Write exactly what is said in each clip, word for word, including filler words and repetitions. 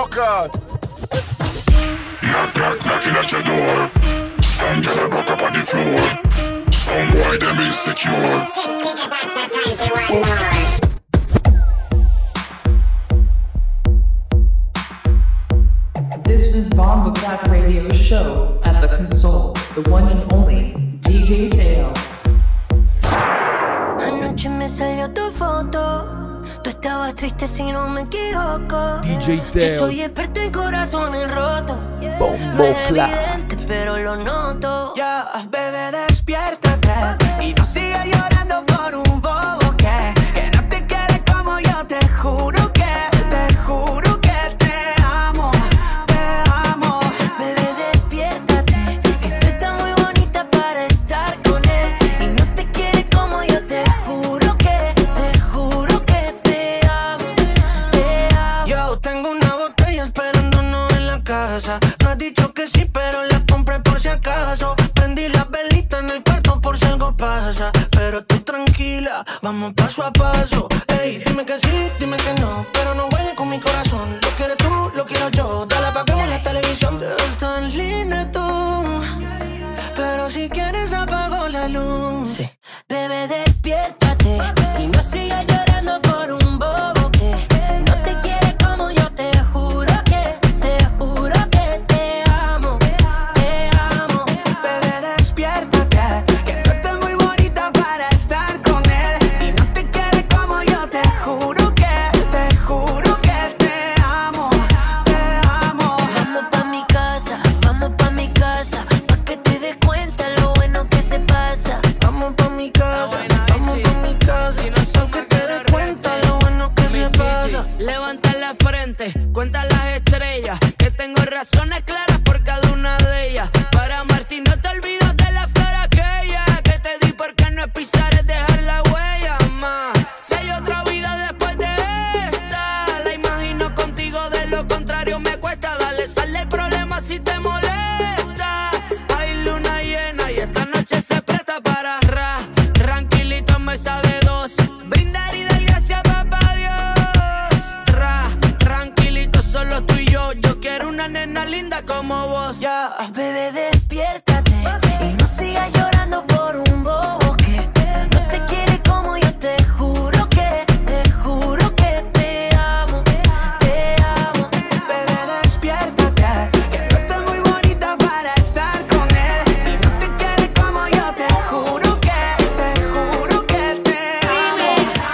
God. Knock, knock, knocking at your door. Some girl a buck up on the floor. Some boy them insecure. This is Bomba Clap Radio Show at the console, the one and only D J Teo. Anoche me salió tu foto, tú estabas triste si no me equivoco. D J Teo. Yo soy experto en corazones rotos. Bomba No es Clap. evidente, pero lo noto. Ya, bebé, despiértate y no sigas llorando por un bobo que, que no te quiere como yo. Te juro que, te juro que te amo, te amo. Bebé, despiértate, que tú estás muy bonita para estar con él. Y no te quiere como yo, te juro que, te juro que te amo, te amo. Yo tengo una botella esperándonos en la casa. No has dicho que sí, pero la compré por si acaso. Prendí las velitas en el cuarto por si algo pasa. Pero tú tranquila, vamos paso a paso. Ey, dime que sí, dime que no, pero no juegues con mi corazón. Lo quieres tú, lo quiero yo. Dale pa' que en la televisión. Te ves tan linda tú, pero si quieres apago la luz. Sí. Bebé, despiértate y no sigas llorando por un bobo que no te quiere como yo. Te juro que, te juro que te amo, te amo. Bebé, despiértate, que tú estás muy bonita para estar con él. Y no te quiere como yo, te juro que, te juro que te amo, te amo. Vamos pa' mi casa, vamos pa' mi casa, pa' que te des cuenta lo bueno que se pasa. Vamos pa' mi casa, vamos pa' mi casa, aunque te des cuenta lo bueno que se pasa. Levanta la frente, cuenta las estrellas, que tengo razones claras por cada una de ellas. Para Martín no te olvidas de la flor aquella que te di porque no es pisar, es dejar la huella más. Si hay otra vida después de esta, la imagino contigo, de lo contrario me cuesta. Dale, sale el problema si te molesta. Hay luna llena y esta noche se presta para ra, tranquilito en mesa de dos, brindar y dar gracias papá Dios. Ra, tranquilito solo tú y yo, yo quiero una nena linda como vos. Ya, Bebé, despiértate y no sigas llorando por un bobo que no te quiere como yo. Te juro que, te juro que te amo, te amo. bebé, despiértate, que tú estás muy bonita para estar con él. Y no te quiere como yo, te juro que, te juro que te amo,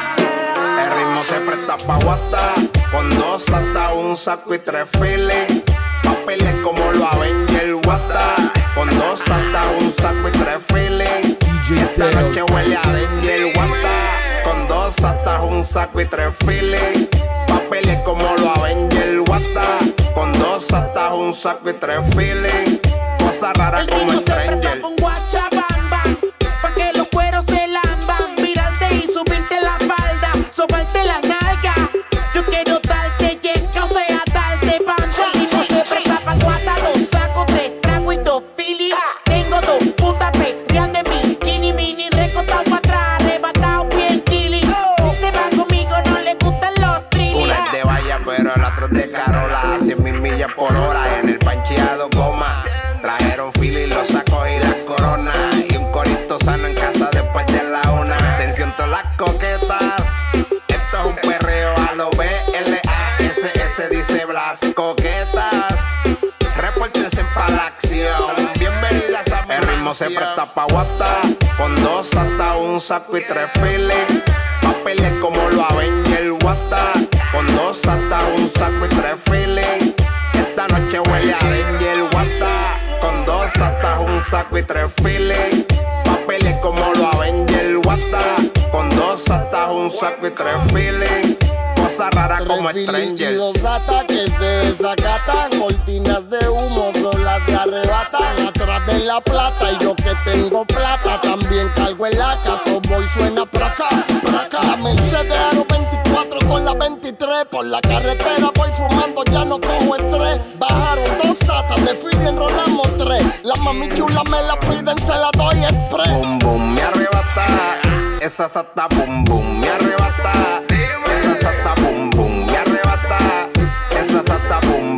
te amo. El ritmo se presta pa' guata, con dos hasta un saco y tres files. Papeles como lo Avenger Guata, con dos hasta un saco y tres files. Esta noche huele a Danger Guata, con dos hasta un saco y tres files. Papeles como lo Avenger Guata, con dos hasta un saco y tres files. Cosa rara El como ritmo se presta Stranger. pa' un guachabamba, pa' que los cueros se lamban. Virarte y subirte la falda, sobarte la nalga. Yo quiero darte yenca, o sea, darte panda. El ritmo se presta pa' guata, dos sacos, tres tragos y dos filis. Tengo dos putas perreando en mi bikini mini, recostado pa' atrás, arrebatado bien chili. Se va conmigo, no le gustan los trillis. Una es de valla, pero el otro es de Carola. A cien mil millas por hora en el pancheado goma. Trajeron fili, los sacos y las coronas. Y un corito sano en casa después de la una. Atención todas las coquetas, esto es un perreo a lo B L A S S, dice Blas. Coquetas, repórtense pa' la acción. Bienvenidas a mi El ritmo se presta pa' guata, con dos hasta un saco y tres files. Papeles como lo Avenger Guata, con dos hasta un saco y tres files. Esta noche huele a Danger Guata, con dos hasta un saco y tres files. Papeles como lo Avenger Guata, con dos hasta un saco y tres files. Cosa rara como Stranger. Y dos ataques se desacatan, cortinas de humo solas se arrebatan. Atrás de la plata y yo que tengo plata también cargo el A K, so voy suena pra acá, pra acá. La Mercedes Aro veinticuatro con la veintitrés, por la carretera voy fumando, ya no cojo estrés. Bajaron dos satas, de Philly enrolamos tres. La mami chula me la piden, se la doy express. Boom boom me arrebata, esa sata boom boom me arrebata. Esa sata boom boom me arrebata, esa sata boom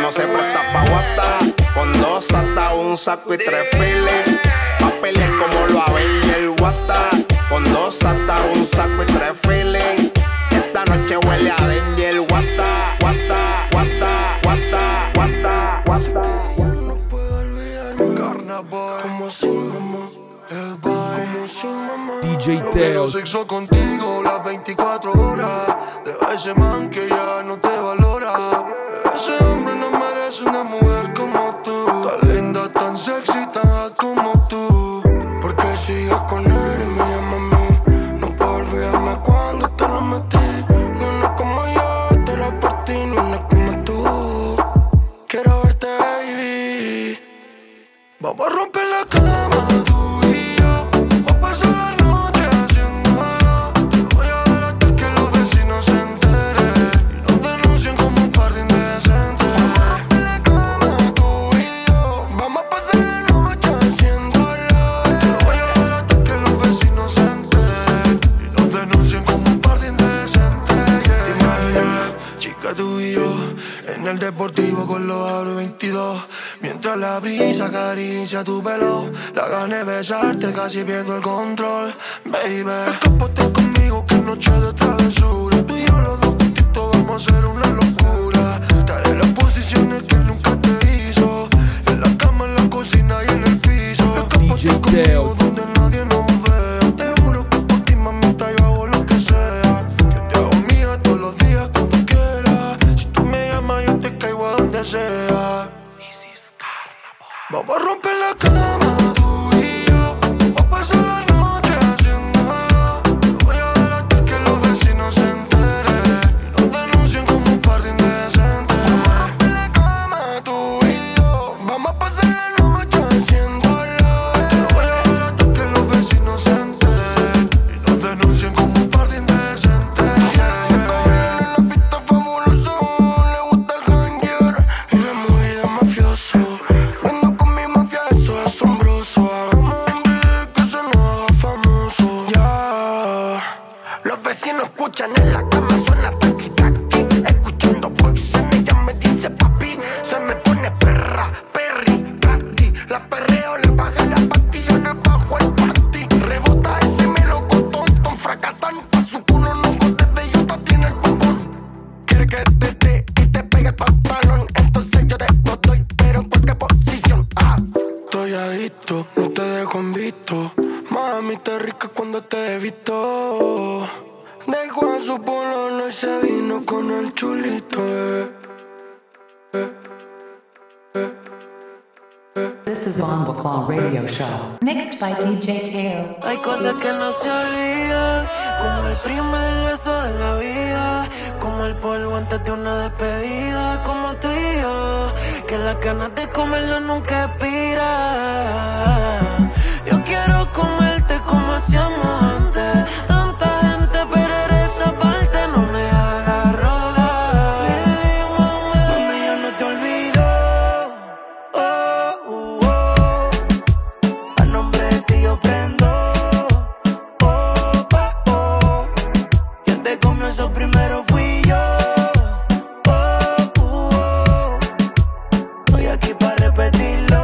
no se presta pa' guata. Con dos santas, un saco y tres files. Pa' pelear como lo Avenger Guata. Con dos santas, un saco y tres files. Esta noche huele a Danger Guata. Guata, guata, guata, guata, guata. No puedo olvidarme. Carnaval. Como si mamá. El baile. Como si mamá. D J Yo quiero Teo. sexo contigo las veinticuatro horas. Deja ese man que ya no te valora. Ese hombre no merece una mujer como tú. Tan linda, tan sexy, tan hot como tú. Porque sigues con él y me llama a mí. No puedo olvidarme cuando te lo metí. No una como yo, te lo partí. No una como tú. Quiero verte, baby. Vamos a romper la cama, tú y yo. Vamos a pasar la noche haciendo nada. Te voy a dar hasta que los vecinos se enteren y nos denuncien como un par de indecentes. Vamos a romper la cama, tú y yo. Vamos a pasar la noche haciéndolo. Te voy a dar hasta que los vecinos se enteren y nos denuncien como un par de indecentes. Yeah. Te imaginas, chica, tú y yo en el deportivo con los aros veintidós. Mientras la brisa acaricia tu pelo, la gané de besarte, casi pierdo el control, baby. Escápate conmigo, que noche de travesura. Tú y yo los dos juntitos vamos a hacer una locura. Te haré las posiciones que él nunca te hizo. En la cama, en la cocina y en el piso. Escápate conmigo donde nadie nos vea. Te juro que por ti, mamita, yo hago lo que sea. Que te hago mía todos los días cuando quieras. Si tú me llamas, yo te caigo a donde sea. Vamos a romper la cama, tú y yo. Vamos a pasar la noche haciendo nada. Te voy a dar hasta que los vecinos se enteren y nos denuncien como un par de indecentes. Vamos a romper la cama, tú y yo. Vamos a pasar la noche haciéndolo. Te voy a dar hasta que los vecinos se enteren y nos denuncien como un par de indecentes. Yeah, yeah, yeah. La pista fabuloso, le gusta janguear y la movida mafioso. Asombroso, hagamos un beat que se nos haga famoso. Ya, yeah. Los vecinos escuchan en la cama, suena taqui taqui. Escuchando Poison, ella me dice papi. Se me pone perra, perri, taqui. La perreo, le baja la pastilla, le bajo el panty. Rebota ese melocotón, ton fracatán. Pa' su culo no gotes de yuta, tiene el bombón. Quiere que te dé y te pegue el pantalón. Entonces yo te lo doy, pero en cualquier posición. Ah. Estoy adicto, no te dejo en visto. Mami, te rica cuando te he visto. Dejó en su polo y se vino con el chulito. Eh. Eh. Eh. Eh. This is Bomba Claw Radio Show. Mixed by D J Teo. Hay cosas que no se olvidan, como el primer beso de la vida, como el polvo antes de una despedida, como tú y yo, que las ganas de comerlo nunca expiran. Yo quiero comerte como hacíamos antes. Tanta gente, pero esa parte no me haga rogar. Mami, yo no te olvido. Oh, oh, oh. A nombre de ti yo prendo. Oh, oh, oh. Quien te comió eso primero fui yo. Oh, oh, oh. Estoy aquí para repetirlo.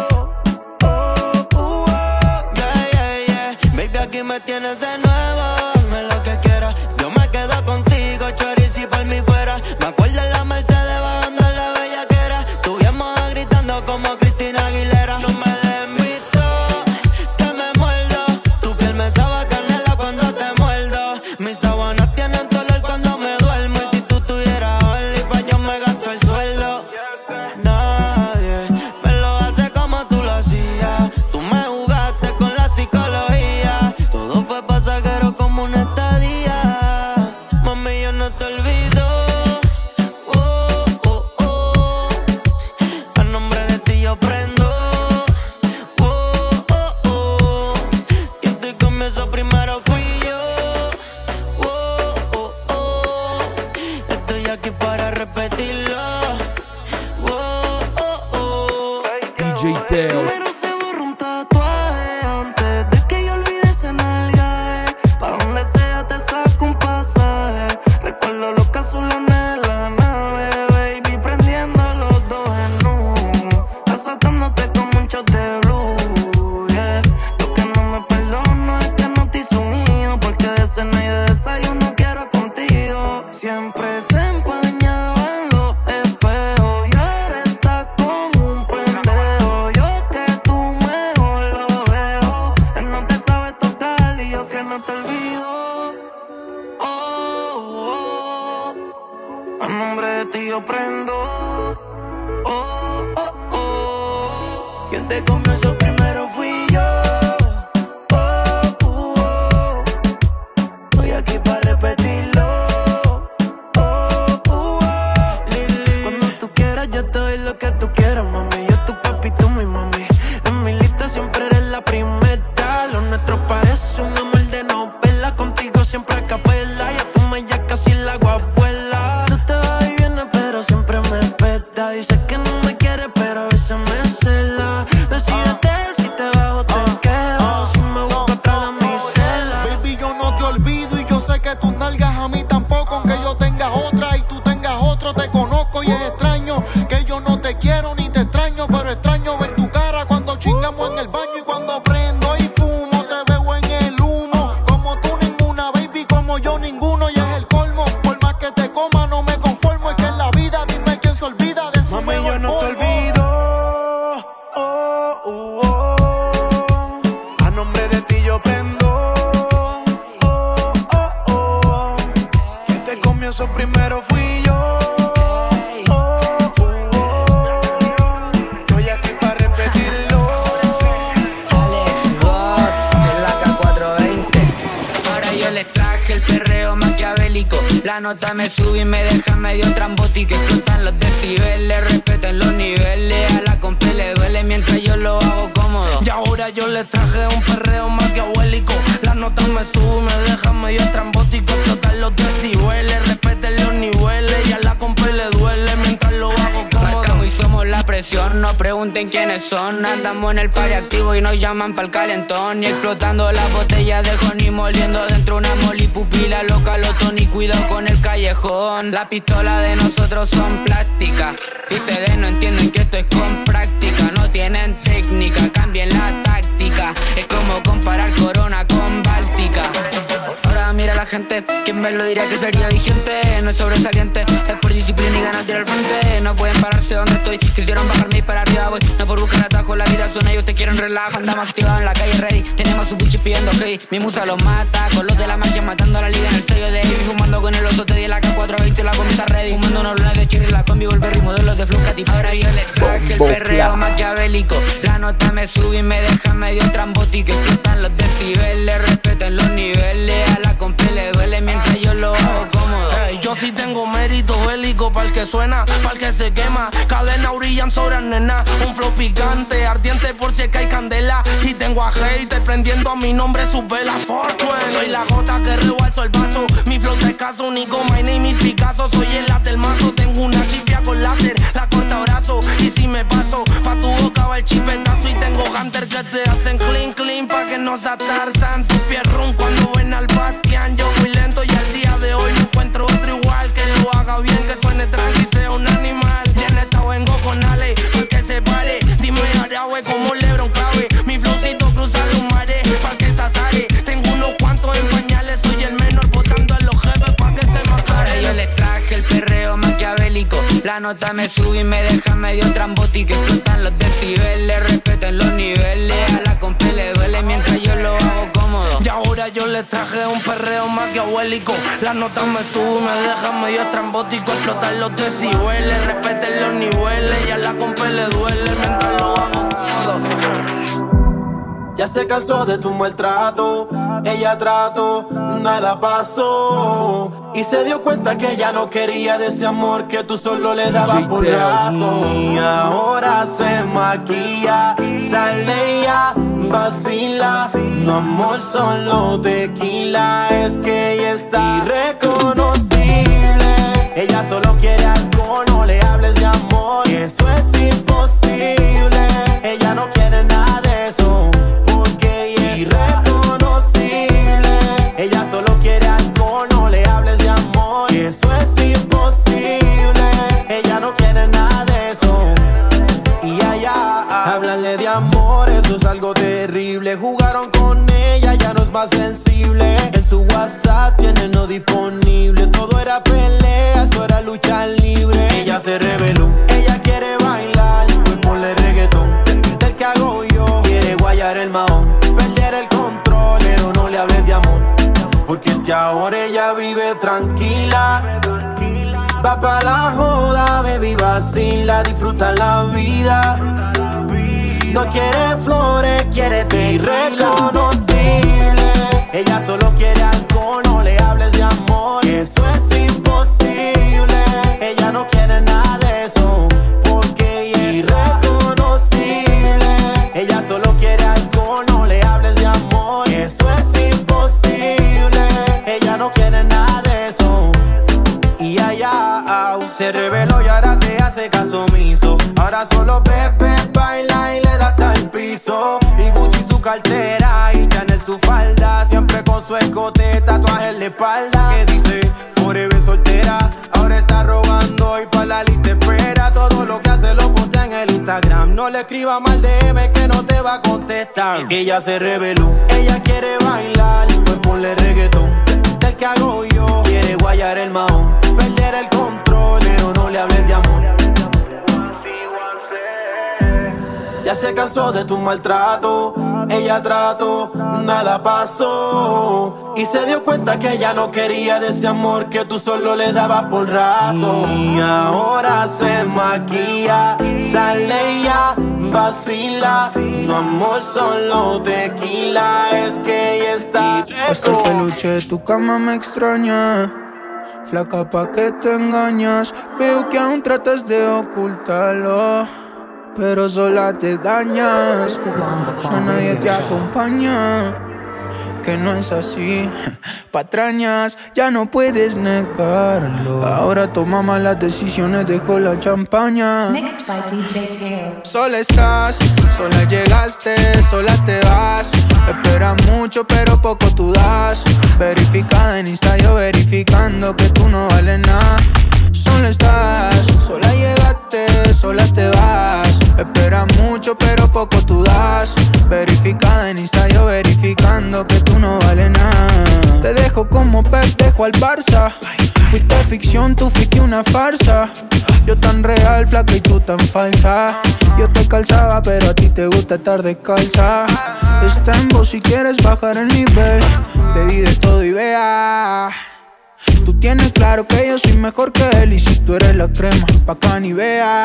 Aquí me tienes de nuevo, hazme lo que quieras. Yo me quedo contigo, chorizo y por mí fuera. Me acuerdo en la Mercedes bajando la bellaquera. Estuvimos gritando como Cristina Aguilera. No me den visto, que me muerdo. Tu piel me sabe a canela cuando te muerdo. Mis sábanas tienen dolor cuando me duermo. Y si tú tuvieras OnlyFans yo me gasto el sueldo. Nadie me lo hace como tú lo hacías. Tú me jugaste con la psicología. Todo fue pasajero como una estadía. Mami, yo no te olvido. Oh, oh, oh. A nombre de ti yo prendo. Oh, oh, oh. Quien te comienzo primero fui yo. Oh, oh, oh. Estoy aquí para repetirlo. Oh, oh, oh. D J Teo. Primero se borra un tatuaje antes de que yo olvide ese nalgaje. Pa' donde sea te saco un pasaje. Recuerdo los cazulones de la nave, baby, prendiendo los dos. Quien te comió eso primero fui yo. Oh, oh, oh. Estoy aquí para repetirlo. Oh, oh, oh. Cuando tú quieras yo te doy lo que tú quieras, mami. Yo tu papi, tú mi mami. En mi lista siempre eres la primera. Lo nuestro parece un amor de novela. Contigo siempre a capela. Ya tú me ya casi la guapuela. Tú te vas y vienes pero siempre me espera. Dices que no me quieres pero a veces me cela. Decídete si te vas o te quedas. Si me busco atrás de mi cela. Baby, yo no te olvido y yo sé que tus nalgas a mí tampoco. Aunque yo tenga otra y tú tengas otro, te conozco y es extraño que yo no te quiero ni te extraño, pero extraño ver tu cara cuando chingamos en el baño y cuando prendo y fumo. Te veo en el humo, como tú ninguna, baby, como yo ninguno, y es el colmo. Por más que te coma no me conformo, es que en la vida dime quién se olvida de su Mami, mejor yo no te polvo. olvido. Oh, oh, oh. A nombre de ti yo prendo. Oh, oh, oh. Quien te comió eso primero fui yo. Oh, oh, oh. Estoy aquí para repetirlo. Alex God, en la K cuatrocientos veinte. Ahora yo les traje el perreo maquiavélico. La nota me sube y me deja medio trambótico. Explotan los decibeles, respeten los niveles. A la compa le duele mientras yo lo hago cómodo. Y ahora yo les traje un perreo maquiavélico. Las notas me suben, me dejan medio estrambótico. Explotan los decibeles, respeten los niveles. Y a la compa le duele mientras lo hago cómodo. Marcamos y somos la presión, no pregunten quiénes son. Andamos en el party activo y nos llaman pa'l calentón. Y explotando las botellas de honey, moliendo dentro una moli pupila loca, lo Tony, cuidado con el callejón. La pistola de nosotros son plásticas. Y ustedes no entienden que esto es con práctica. No tienen técnica, cambien la táctica. Es como comparar Corona con Báltica. Ahora mira la gente, quien me lo diría que sería vigente. No es sobresaliente, es por disciplina y ganas de ir al frente. No pueden pararse donde estoy, quisieron bajarme y para arriba voy. No por buscar atajo, la vida suena y ellos te quieren relajo. Andamos activados en la calle ready, tenemos su buchi pidiendo hey. Mi musa los mata, con los de la magia matando a la liga en el sello de Heavy. Fumando con el oso te di la K cuatrocientos veinte, la comida ready. Fumando unos lunes de cherry, la combi, volver y modelos de Flucati. Ahora yo les traje el perreo maquiavélico. La nota me sube y me deja medio trambótico. Explotan los decibeles, respeten los niveles. A la compa le duele mientras yo lo hago cómodo. Hey, yo sí tengo mérito bélico pa'l que suena, pa'l que se quema. Cadena brillan sobre nena, un flow picante, ardiente por si es que hay candela. Y tengo a hater prendiendo a mi nombre sus velas. Fortune, soy la gota que rebalso el vaso. Mi flow te escaso, único, my name is Picasso. Soy el late del mazo, tengo una chipia con láser, la corta brazo. Y si me paso, pa' tu boca va el chipetazo. Y tengo hunter que te hacen clean, clean, pa' que no se atarzan. Su pie run cuando ven al Bastian. Yo muy lento y al día de hoy no encuentro otro igual. Que lo haga bien, que suene tranqui, sea un animal. Ya en esta vengo con Ale, pa' que se pare. Dime Aragüe como Lebron clave. Mi flowcito cruza los mares, pa' que se azare. Tengo unos cuantos en pañales, soy el menor botando a los jefes pa' que se me Ahora yo les traje el perreo maquiavélico. La nota me sube y me deja medio trambótico. Explotan los decibeles, respeten los niveles. A la compa le duele mientras yo lo hago cómodo. Y ahora yo les traje un perreo maquiavélico. Las notas me suben, me dejan medio estrambótico. Explotan los decibeles, respeten los niveles. Y a la compa le duele mientras lo hago cómodo. Ya se cansó de tu maltrato, ella trató, nada pasó. Y se dio cuenta que ella no quería de ese amor que tú solo le dabas por rato. Y ahora se maquilla, sale ya, vacila. No amor, solo tequila, es que ella está irreconocible. Ella solo quiere alcohol, no le hables de amor, que eso es imposible. Ella no quiere nada de eso, porque ella es irreconocible. Ella solo quiere alcohol, no le hables de amor, que eso es imposible. Ella no quiere nada de eso. Y allá, háblale de amor, eso es algo terrible. Jugaron con ella, ya no es más sensible. En su WhatsApp tiene no disponible. Todo era pelea, eso era lucha libre. Ella se reveló, ella quiere bailar, pues ponle reggaetón. Del que hago yo, quiere guayar el mahón, perder el control, pero no le hables de amor, porque es que ahora ella vive tranquila. Va pa' la joda, baby, vacila, disfruta la vida. No quiere flores, quiere ser irreconocible. Ella solo quiere alcohol, no le hables de amor, eso es imposible. Ella no quiere nada de eso, porque ella es irreconocible. Ella solo quiere alcohol, no le hables de amor, eso es imposible. Ella no quiere nada de eso. Y allá se reveló y ahora te hace caso omiso. Ahora solo bebe, baila y le da hasta el piso. Y Gucci su cartera y Chanel su falda, siempre con su escote, tatuaje en la espalda. Que dice, forever soltera, ahora está robando y pa' la lista espera. Todo lo que hace lo postea en el Instagram. No le escriba mal D M que no te va a contestar. Ella se reveló, ella quiere bailar, pues ponle reggaetón del que hago yo. Quiere guayar el mahón, perder el control, pero no le hables de amor. Ya se cansó de tu maltrato, ella trató, nada pasó. Y se dio cuenta que ella no quería de ese amor que tú solo le dabas por rato. Y ahora se maquilla, sale ya, vacila. No amor, solo tequila, es que ella está hasta el peluche de tu cama me extraña. Flaca, pa' que te engañas. Veo que aún tratas de ocultarlo, pero sola te dañas. Ya nadie te acompaña, que no es así. Patrañas, ya no puedes negarlo. Ahora toma malas decisiones, dejo la champaña. Mixed by D J Teo. Sola estás, sola llegaste, sola te vas. Esperas mucho pero poco tú das. Verificada en Insta, yo verificando que tú no vales nada. Sola estás, sola llegaste, sola te vas. Esperas mucho pero poco tú das. Verificada en Insta, yo verificando que tú no vales nada. Te dejo como Pep, dejo al Barça. Fuiste ficción, tú fuiste una farsa. Yo tan real, flaca y tú tan falsa. Yo te calzaba, pero a ti te gusta estar descalza. Está en vos si quieres bajar el nivel. Te di de todo y vea. Tú tienes claro que yo soy mejor que él. Y si tú eres la crema, pa' acá ni vea.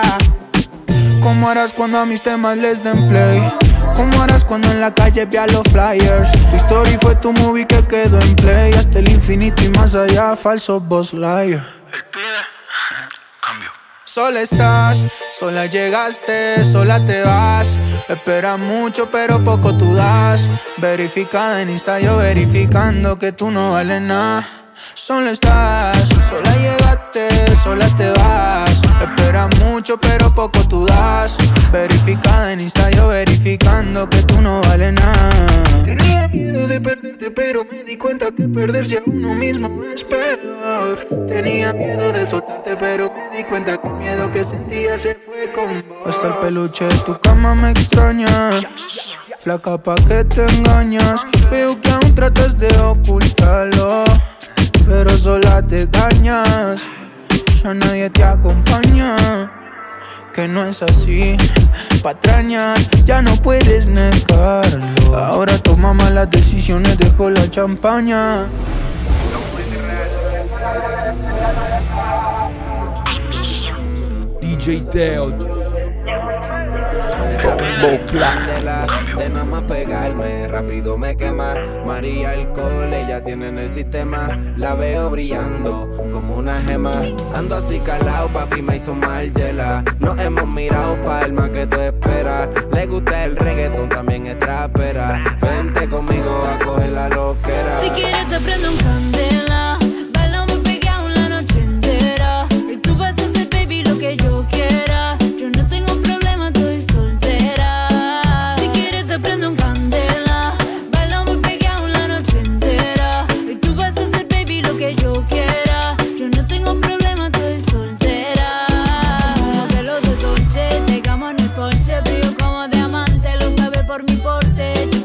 ¿Cómo harás cuando a mis temas les den play? ¿Cómo harás cuando en la calle vea los flyers? Tu story fue tu movie que quedó en play. Hasta el infinito y más allá, falso boss liar. El pibe, cambio. Sola estás, sola llegaste, sola te vas. Esperas mucho pero poco tú das. Verificada en Insta, yo verificando que tú no vales nada. Sola estás, sola llegaste, sola te vas. Esperas mucho pero poco tú das. Verificada en Insta, yo verificando que tú no vales nada. Tenía miedo de perderte pero me di cuenta que perderse a uno mismo es peor. Tenía miedo de soltarte pero me di cuenta que el miedo que sentía se fue con vos. Hasta el peluche de tu cama me extraña. Flaca, pa' que te engañas. Veo que aún tratas de ocultarlo, pero sola te dañas. Ya nadie te acompaña, que no es así. Patrañas, ya no puedes negarlo. Ahora toma malas decisiones, dejo la champaña. D J Teo. Candela, de nada más pegarme, rápido me quema. María alcohol, ella tiene en el sistema. La veo brillando como una gema. Ando así calado, papi me hizo mal hiela. Nos hemos mirado, palma que tú esperas. Le gusta el reggaetón, también es trapera. Vente conmigo a coger la loquera. Si quieres te prendo un candela. Bailamos pegado la noche entera. Y tú vas a hacer, baby, lo que yo quiera. Yo no tengo problema, estoy soltera. Si quieres te prendo un candela. Bailamos pegado la noche entera. Y tú vas a hacer, baby, lo que yo quiera. Yo no tengo problema, estoy soltera. Como que los de Dolce, llegamos en el porche. Brillo como diamante, lo sabe por mi porte. Yo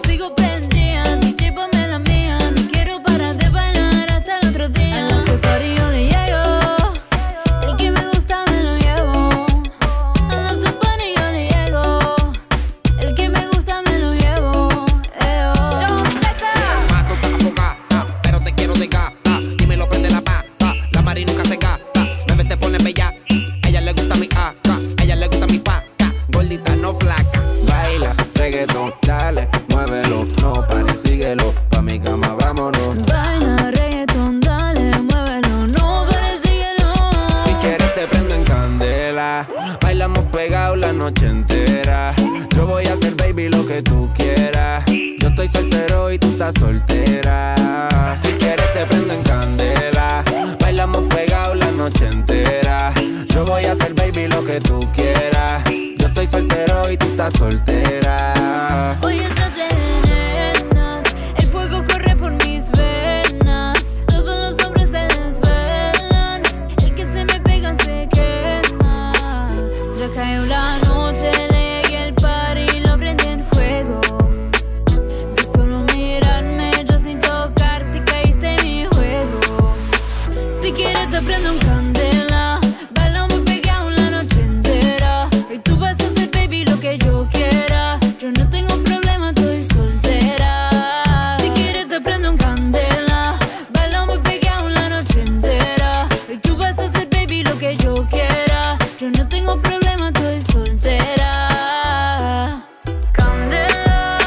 soltera. Yo voy a hacer, baby, lo que tú quieras. Yo estoy soltero y tú estás soltera. Si quieres te prendo en candela. Bailamos pegados la noche entera. Yo voy a hacer, baby, lo que tú quieras. Yo estoy soltero y tú estás soltera. Hoy es noche de nenas, el fuego corre por mis venas. Todos los hombres se desvelan, el que se me pega se quema. Ya cayó la noche, le llegué al party, lo prendí en fuego. De solo mirarme, yo sin tocarte, caíste en mi juego. Si quieres te prendo en candela, bailamos pegado la noche entera. Y tú vas a hacer, baby, lo que yo quiera. Yo no tengo problema, estoy soltera. Si quieres te prendo en candela, bailamos pegado la noche entera. Y tú vas a hacer, baby, lo que yo quiera. Yo no tengo problema, estoy soltera. Candela,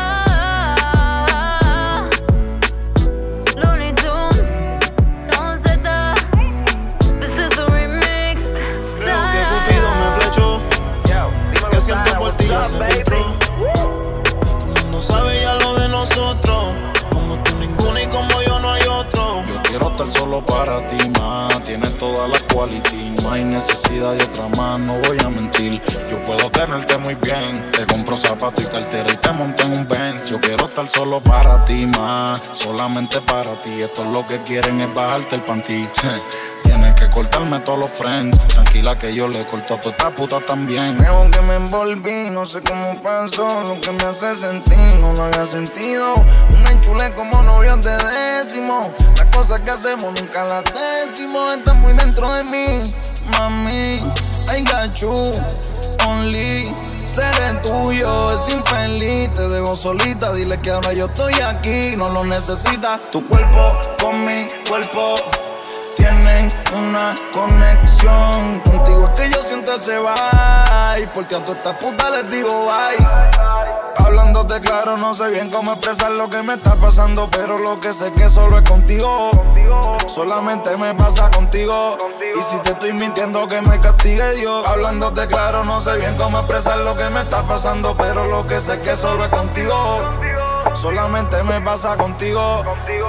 Looney Tunes, Don Zeta, this is the remix. Creo que Cupido me flechó, que siento por ti ya se filtró. Todo el mundo sabe ya lo de nosotros, como tú ninguno y como yo no hay otro. Yo quiero estar solo para ti, ma. Tienes toda la quality, no hay necesidad de otra más, no voy a mentir. Yo puedo tenerte muy bien, te compro zapatos y cartera y te monto en un Benz. Yo quiero estar solo para ti, ma, solamente para ti. Esto es lo que quieren, es bajarte el panty. Tienes que cortarme todos los friends. Tranquila que yo le corto a toda esta puta también. Creo que me envolví, no sé cómo pasó. Lo que me hace sentir no lo había sentido. Una enchule como novios de décimo. Las cosas que hacemos nunca las decimos. Estás muy dentro de mí, mami. I got you, only. Seré tuyo, es infeliz. Te dejo solita, dile que ahora yo estoy aquí. No lo necesitas. Tu cuerpo con mi cuerpo tienen una conexión. Contigo es que yo siento ese vibe. Por ti a todas estas putas les digo bye. Hablándote claro, no sé bien cómo expresar lo que me está pasando, pero lo que sé que solo es contigo. Solamente me pasa contigo. Y si te estoy mintiendo, que me castigue Dios. Hablándote claro, no sé bien cómo expresar lo que me está pasando, pero lo que sé que solo es contigo. Solamente me pasa contigo.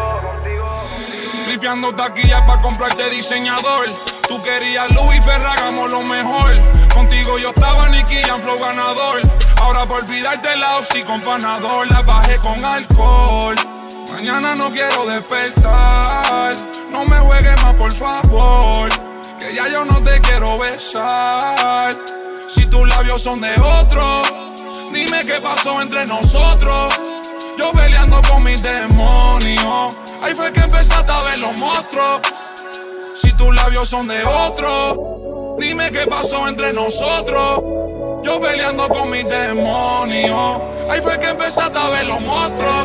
Flipeando taquillas pa' comprarte diseñador. Tú querías Louis Ferragamo lo mejor. Contigo yo estaba Nicky Jam, flow ganador. Ahora por olvidarte la oxi con panador. La bajé con alcohol. Mañana no quiero despertar. No me juegues más por favor, que ya yo no te quiero besar. Si tus labios son de otro, dime qué pasó entre nosotros. Yo peleando con mis demonios, ahí fue que empezaste a ver los monstruos. Si tus labios son de otro, dime qué pasó entre nosotros. Yo peleando con mis demonios, ahí fue que empezaste a ver los monstruos.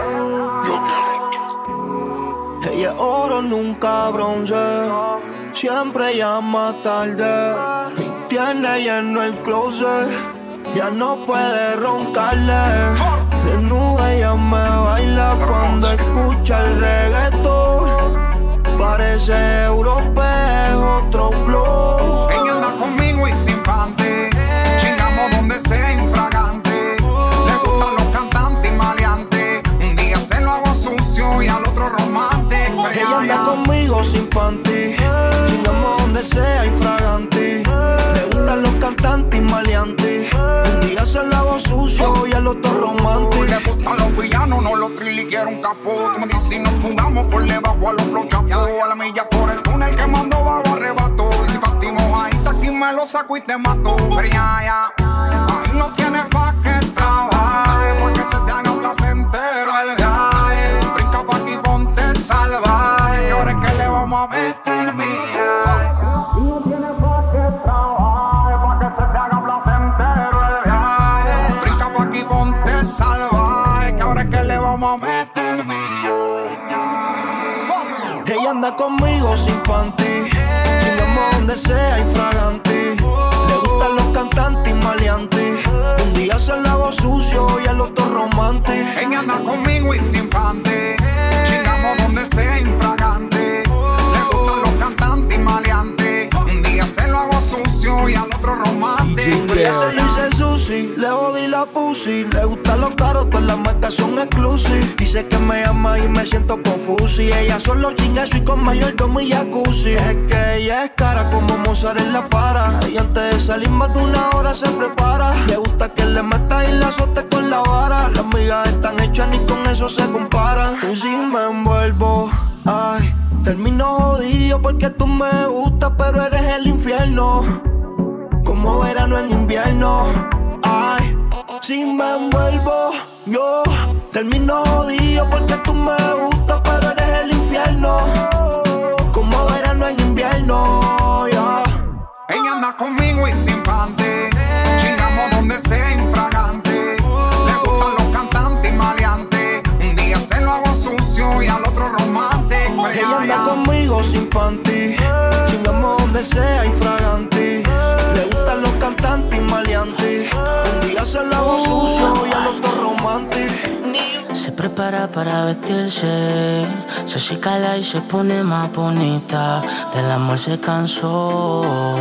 Ella es oro, nunca bronce. Siempre llama tarde. Y tiene lleno el closet. Ya no puede roncarle. Desnuda ella me baila cuando escucha el reggaetón. Parece europeo, otro flow. Ella anda conmigo y sin panty. Chingamos donde sea infragante. Le gustan los cantantes y maleantes. Un día se lo hago sucio y al otro romántico. Ella anda conmigo sin panty. Chingamos donde sea infragante. Le gustan los cantantes y maleantes. Un día se lo hago sucio y al otro romántico. Le gustan los villanos, no los triliqueros, un capó. Tú me dices si nos fugamos por debajo a los flow chapó. A la milla por el túnel que mando bajo arrebato. Y si partimos ahí, aquí me lo saco y te mato. Pero ya, ya, ahí no tienes pa' que trabaje, pa' que se te haga placentero el viaje. Brinca pa' aquí, ponte salvaje, que ahora es que le vamos a meter mía. No tienes pa' que trabaje, pa' que se te haga placentero el viaje. Brinca pa' aquí, ponte salvaje, que ahora es que le vamos a meter mía. Ella anda conmigo sin panty. Chingamos donde sea infragante. Le gustan los cantantes y maleantes. Un día se lo hago sucio y al otro romántico. Ella anda conmigo y sin panty. Chingamos donde sea infragante. Le gustan los cantantes y maleantes. Un día se lo hago sucio y al otro romántico. Un día se lo hice sushi, le jodí la pussy. Le gustan los caros, todas las marcas son exclusive. Dice que me ama y me siento confuso. Y ella solo chinga eso y con mayordomo y jacuzzi. Es que ella es cara como Mozart en la para. Y antes de salir más de una hora se prepara. Le gusta que le meta y la azote con la vara. Las migas están hechas ni con eso se comparan. Y si me envuelvo, ay, termino jodido porque tú me gustas, pero eres el infierno. Como verano en invierno. Ay, si me envuelvo, yo termino jodido porque tú me gustas, pero eres el infierno. Como verano en invierno, yeah. Ella anda conmigo y sin panty. Chingamos donde sea infragante. Le gustan los cantantes y maleantes. Un día se lo hago sucio y al otro romántico. Ella anda conmigo sin panty. Chingamos donde sea infragante. Le gustan los cantantes y maleantes. Un día se lo hago sucio y al otro romántico. Se prepara para vestirse, se acicala y se pone más bonita. Del amor se cansó.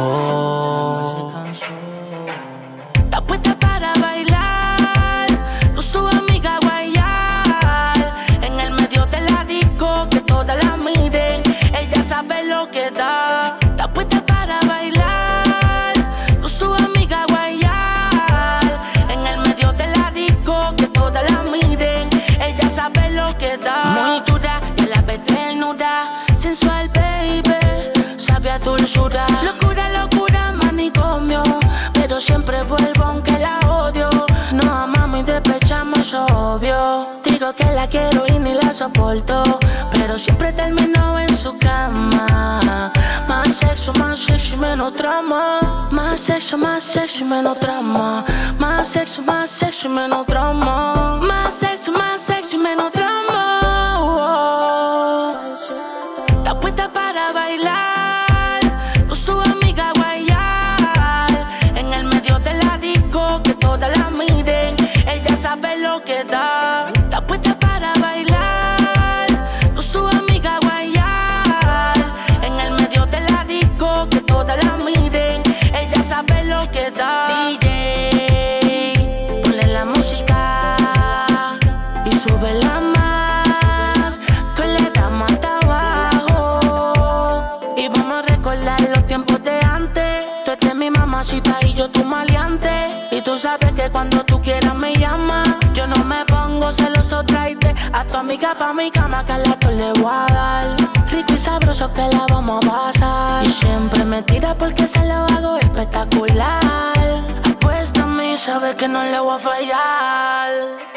Está puesta para bailar, con su amiga guayar. En el medio de la disco, que todas la miren. Ella sabe lo que da. Está puesta para bailar, con su amiga guayar. En el medio de la disco, que todas la miren. Ella sabe lo que da. Muy dura y a la vez desnuda. Sensual, baby, sabe a dulzura. Locura, locura, manicomio. Pero siempre vuelvo aunque la odio. No amamos y despechamos, es obvio. Digo que la quiero y ni la soporto, pero siempre termino en su cama. Más sexo, más sexo y menos trama. Más sexo, más sexo y menos trama. Más sexo, más sexo y menos trama. Más sexo, más sexo y menos trama. Oh. Está puesta para bailar, con su amiga guayar. En el medio de la disco, que todas la miren. Ella sabe lo que da. Está puesta para bailar, con su amiga guayar. En el medio de la disco, que todas la miren. Ella sabe lo que da. D J, ponle la música y súbela más, que le damos hasta abajo. Y vamos a recordar los tiempos de antes. Tú eres mi mamacita y yo tu maleante. Y tú sabes que cuando tú quieras me llamas. Yo no me pongo celoso, tráete a tu amiga pa' mi cama, que a la le voy a dar. Rico y sabroso que la vamos a pasar. Y siempre me tira porque se lo hago espectacular. Apuéstame y sabes que no le voy a fallar.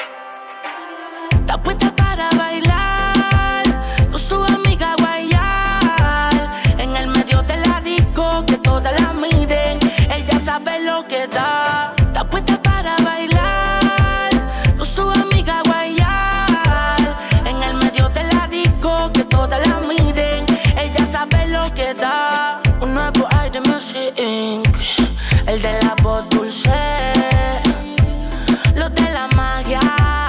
Está puesta para bailar, con su amiga guayar. En el medio de la disco, que todas la miren. Ella sabe lo que da. Está puesta para bailar, con su amiga guayar. En el medio de la disco, que todas la miren. Ella sabe lo que da. Un nuevo aire Music incorporated. El de la voz dulce, los de la magia.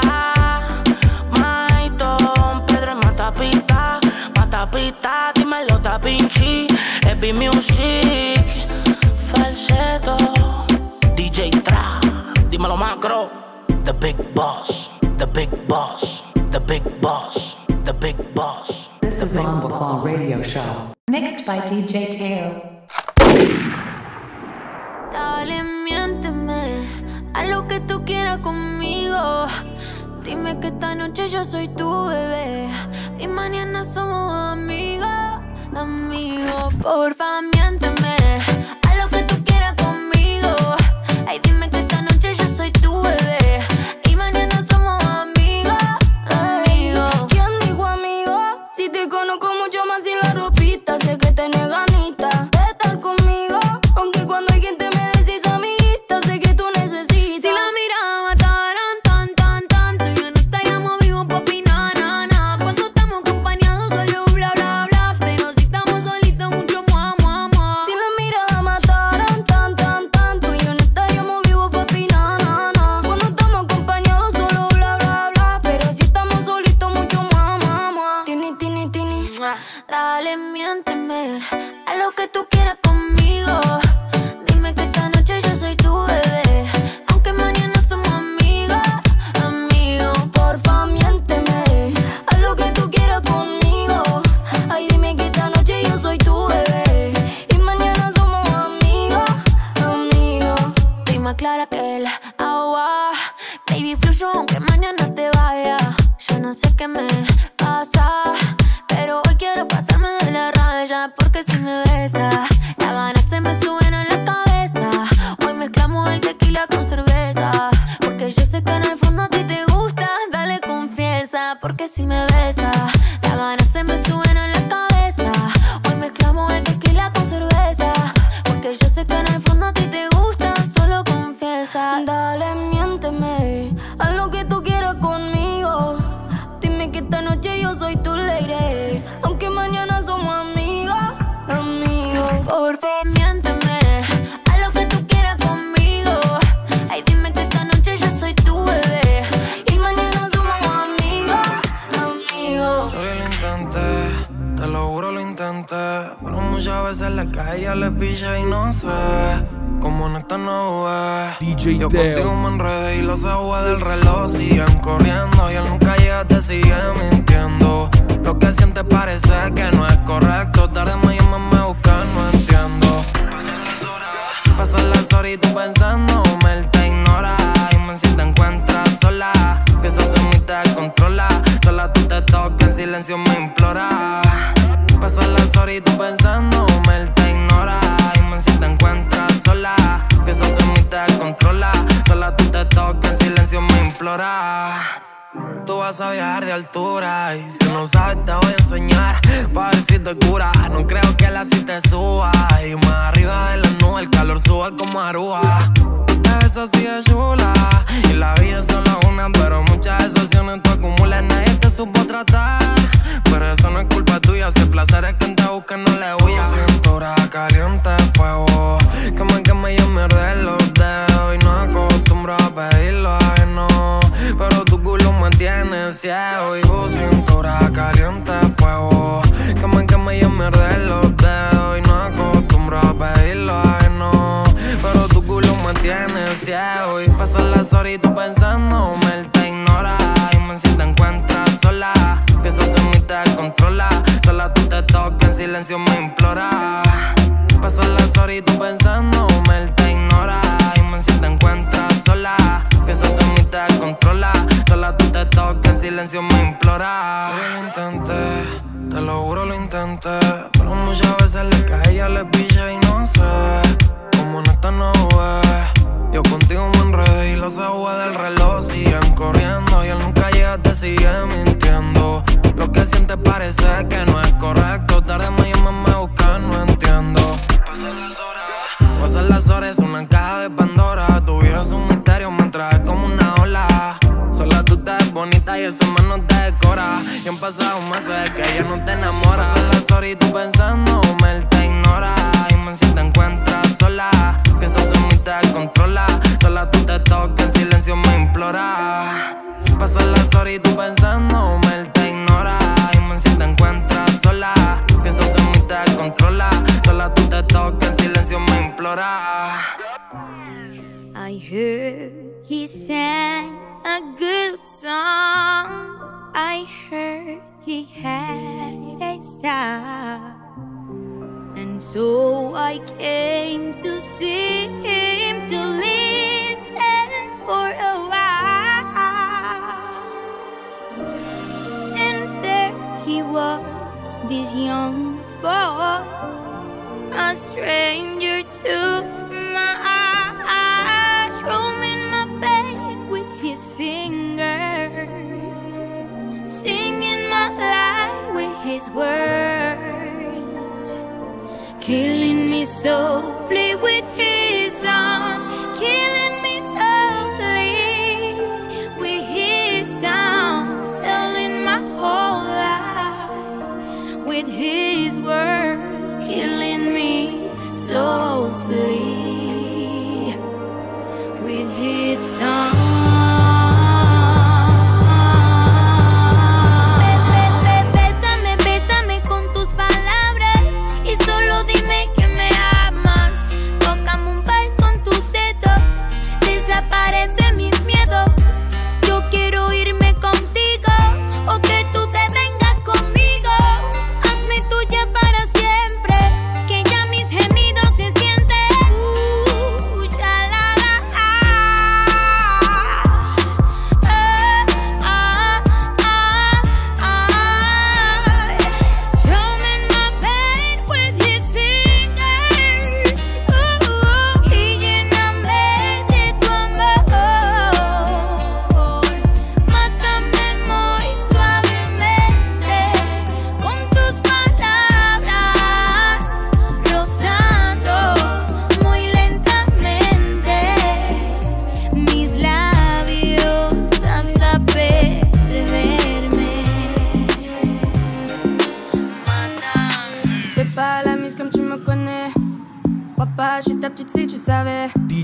Maiton, Pedro y Matapita. Matapita, dímelo Da Vinci. Heavy Music, falseto. D J Tra, dímelo Macro. The Big Boss, The Big Boss, The Big Boss, The Big Boss. This is Bomba Claw Radio Show. Mixed by D J Teo. Dale, miénteme, haz lo que tú quieras conmigo. Dime que esta noche yo soy tu bebé y mañana somos amigos, amigos. Porfa, miénteme, haz lo que tú quieras conmigo. Ay, dime que esta noche yo soy tu bebé y mañana somos amigos, amigos. ¿Quién dijo amigo? Si te conozco mucho más sin la ropita, sé que tenés ganita de estar conmigo. Aunque cuando hay gente me decís amiguita, sé que tú necesitas. Si la mirada mataran tan, tan, tan, tú y yo no estaríamos vivos, papi, na, na, na. Cuando estamos acompañados solo bla, bla, bla. Pero si estamos solitos mucho mua, mua, mua. Si la mirada el agua. Baby, fluyo aunque mañana te vaya. Yo no sé qué me pasa, pero hoy quiero pasarme de la raya. Porque si me besas, las ganas se me suben a la cabeza. Hoy mezclamos el tequila con cerveza. Porque yo sé que en el fondo a ti te gusta. Dale confianza, porque si me besas, las ganas se me suben a la cabeza. Hoy mezclamos el tequila con cerveza. Porque yo sé que en el fondo a ti te gusta. Solo confiesa. Dale, miénteme, haz lo que tú quieras conmigo. Dime que esta noche yo soy tu lady, aunque mañana somos amigos, amigos. Por favor, miénteme, haz lo que tú quieras conmigo. Ay, dime que esta noche yo soy tu bebé y mañana somos amigos, amigos. Yo lo intenté, te lo juro lo intenté, pero muchas veces la calle le pilla y no sé cómo en esta no ves. D J Yo Teo. contigo me enredé y los aguas del reloj siguen corriendo y él nunca llega, te sigue mintiendo. Lo que siente parece que no es correcto. Tarde me llamas, me buscas, no entiendo. Pasan las horas, pasan las horas y tú pensando, él te ignora. Y me si te encuentras sola, piensas en mí, te controla. Sola tú te tocas, en silencio me implora. Pasan las horas y tú pensando, él te ignora. Y me si te encuentras sola, piensas en mí, te controla. Sola tú te tocas, en silencio me implora. Tú vas a viajar de altura y si no sabes te voy a enseñar pa' ver si te cura. No creo que la si te suba y más arriba de la nube el calor sube como Aruba. Te ves así de chula y la vida es solo una, pero muchas excepciones tú acumulas, nadie te supo tratar. Pero eso no es culpa tuya, si el placer es quien te busca no le huya. Cintura caliente fuego, que me queme yo me arde los dedos y no acostumbro a pedirlo ajeno, pero tu culo me tiene ciego. Y tu cintura caliente fuego, que me queme yo me arde los dedos y no acostumbro a pedirlo ajeno, pero tu culo me tiene ciego. Y pasan las horas y tú pensando, él te ignora. Y me si te encuentras sola, piensas en mí, te controla. Sola tú te tocas, en silencio me implora. Pasan las horas y tú pensando, él te ignora. Y me si te encuentras sola, piensas en mí, te controla. Sola tú te tocas, en silencio me implora. Yo lo intenté, te lo juro lo intenté, pero muchas veces le cae, ella le pilla y no sé cómo en esta no ves. Yo contigo me enredé y los aguas del reloj siguen corriendo y él nunca llega, te sigue mintiendo. Lo que siente parece que no es correcto. Tarde me llamas, me buscas, no entiendo. Pasan las horas, pasan las horas, es una caja de Pandora. Tu vida es un misterio, me traes como una ola. Sola tú te ves bonita y eso más no te decora. Y han pasado meses que ella no te enamora. Pasan las horas y tú pensando, él te ignora. Y me si te encuentras sola, piensas en mí, te controla. Sola tú te tocas, en silencio me implora. Pasan las horas y tú pensando, él te ignora. Y me si te encuentras sola, piensas en mí, te controla. Sola tú te tocas, en silencio me implora. I heard he sang a good song. I heard he had a style, and so I came to see him, to listen for a while. And there he was, this young boy, a stranger to my eyes, roaming my bed with his fingers, singing my life with his words, killing me softly with his arms.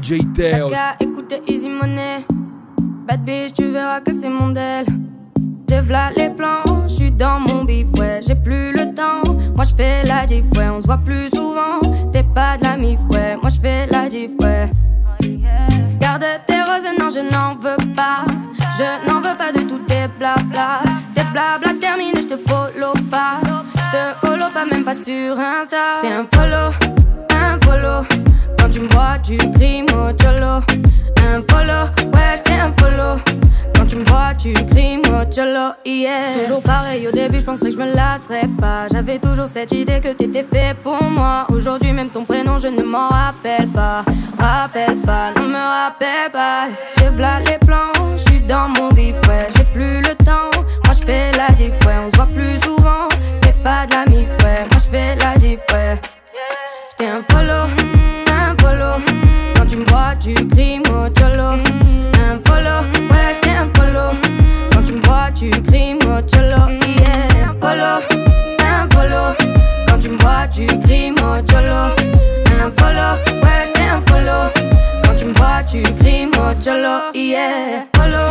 J Teo. T'as qu'à écouter Easy Money. Bad bitch, tu verras que c'est mon del. J'ai v'là les plans, j'suis dans mon bif, ouais, j'ai plus le temps. Moi j'fais la diff, ouais, on se voit plus souvent. T'es pas de la mif, ouais, moi j'fais la diff, ouais. Garde tes roses, non je n'en veux pas. Je n'en veux pas de tous tes blabla. Tes blabla terminés, j'te follow pas. J'te follow pas, même pas sur Insta. J't'ai un follow, un follow. Quand tu me vois, tu cries mocholo. Un follow, ouais, j't'ai un follow. Quand tu me vois, tu cries mocholo, yeah. Toujours pareil, au début, j'penserais que je me lasserais pas. J'avais toujours cette idée que t'étais fait pour moi. Aujourd'hui, même ton prénom, je ne m'en rappelle pas. Rappelle pas, non me rappelle pas. J'ai v'là les plans, j'suis dans mon vif, ouais. J'ai plus le temps, moi j'fais la diff, ouais. On se voit plus souvent, t'es pas de la mif, ouais. Moi j'fais la diff, ouais. J't'ai un follow, un follow. Quand tu me vois, tu cries mocholo. Un follow, ouais, j't'ai un follow. Quand tu me vois, tu cries mocholo, yeah. Un follow, j't'ai un follow. Quand tu me vois, tu cries mocholo. Un follow, ouais, j't'ai un follow. Quand tu me vois, tu cries mocholo, yeah. Follow,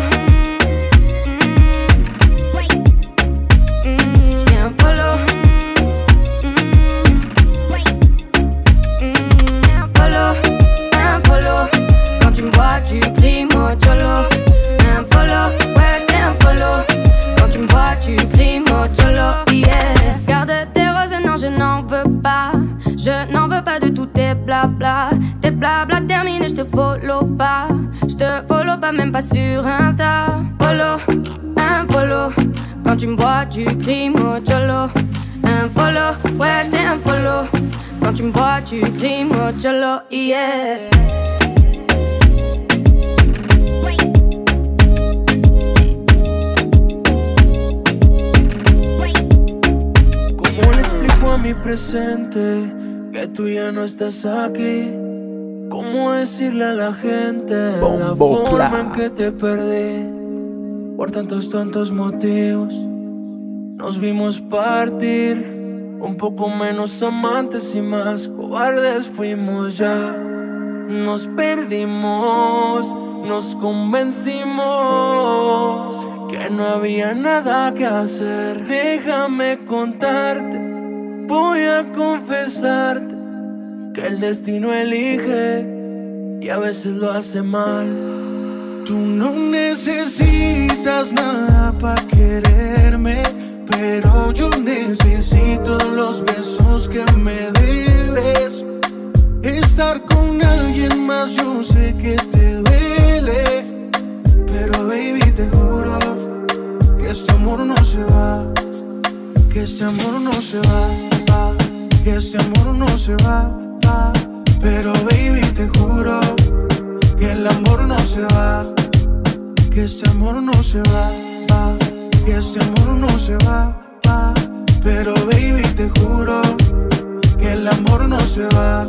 j't'ai un follow. Follow, j't'ai un follow. Quand tu me vois, tu cries mocholo. J't'ai un follow, ouais, j't'ai un follow. Quand tu me vois, tu cries mocholo, yeah. Garde tes roses, non, je n'en veux pas. Je n'en veux pas de tous tes blabla. Tes blabla terminés, j'te follow pas. J'te follow pas, même pas sur Insta. Follow, un follow. Quand tu me vois, tu cries mocholo. Un follow, ouais, j't'ai un follow. Quand tu me vois, tu cries mocholo, yeah. ¿Cómo le explico a mi presente que tú ya no estás aquí? ¿Cómo decirle a la gente la forma en que te perdí? Por tantos tontos motivos nos vimos partir. Un poco menos amantes y más cobardes fuimos ya. Nos perdimos, nos convencimos que no había nada que hacer. Déjame contarte, voy a confesarte que el destino elige y a veces lo hace mal. Tú no necesitas nada para quererme, pero yo necesito los besos que me debes. Estar con alguien más yo sé que te duele, pero baby te juro que este amor no se va, que este amor no se va, va, que este amor no se va, va. Pero baby te juro que el amor no se va, que este amor no se va, va. Que este amor no se va, va. Pero baby te juro que el amor no se va.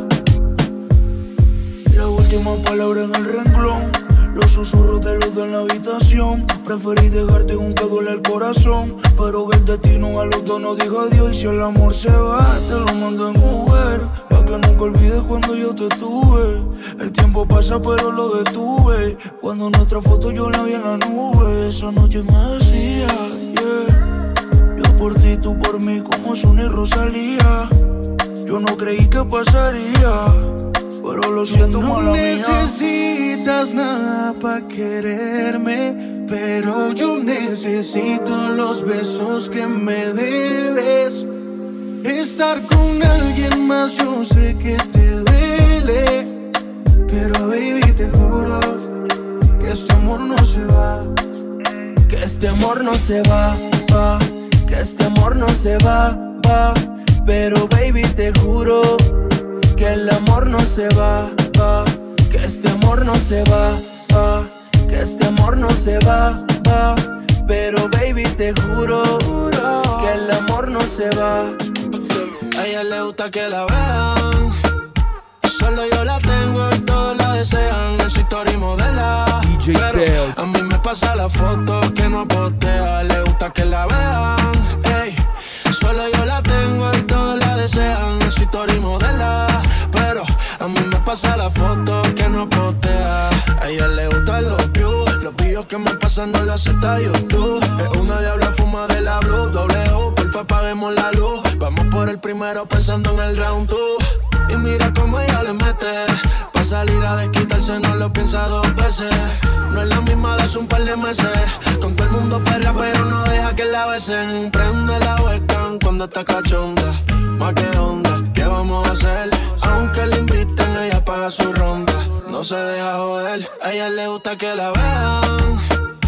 La última palabra en el renglón, los susurros de luz en la habitación. Preferí dejarte aunque duele el corazón, pero el destino a los dos nos dijo adiós. Y si el amor se va, te lo mando en Uber, pa' que nunca olvides cuando yo te tuve. El tiempo pasa pero lo detuve, cuando nuestra foto yo la vi en la nube. Esa noche me decía, yeah, yo por ti, tú por mí, como Sony y Rosalía. Yo no creí que pasaría, pero lo siento, mala mía. No necesitas nada pa' quererme, pero yo necesito los besos que me debes. Estar con alguien más yo sé que te duele, pero baby te juro que este amor no se va, que este amor no se va, va, que este amor no se va, va. Pero baby te juro que el amor no se va, va, que este amor no se va, va, que este amor no se va, va. Pero baby te juro que el amor no se va. A ella le gusta que la vean, solo yo la tengo y todos la desean. En su historia y modela, pero a mí me pasa la foto que no postea. Le gusta que la vean, ey. Solo yo la tengo y todos la desean. En su historia y modela, pero a mí me pasa la foto que no postea. que me pasa no lo acepta YouTube. Es una diabla fuma de la blue, doble U, porfa apaguemos la luz. Vamos por el primero pensando en el round two. Y mira cómo ella le mete. Pa' salir a desquitarse no lo piensa dos veces. No es la misma de hace un par de meses. Con todo el mundo perra pero no deja que la besen. Prende la webcam cuando está cachonda. Más que onda, ¿qué vamos a hacer? Aunque le inviten ella paga su ronda. No se deja joder, a ella le gusta que la vean.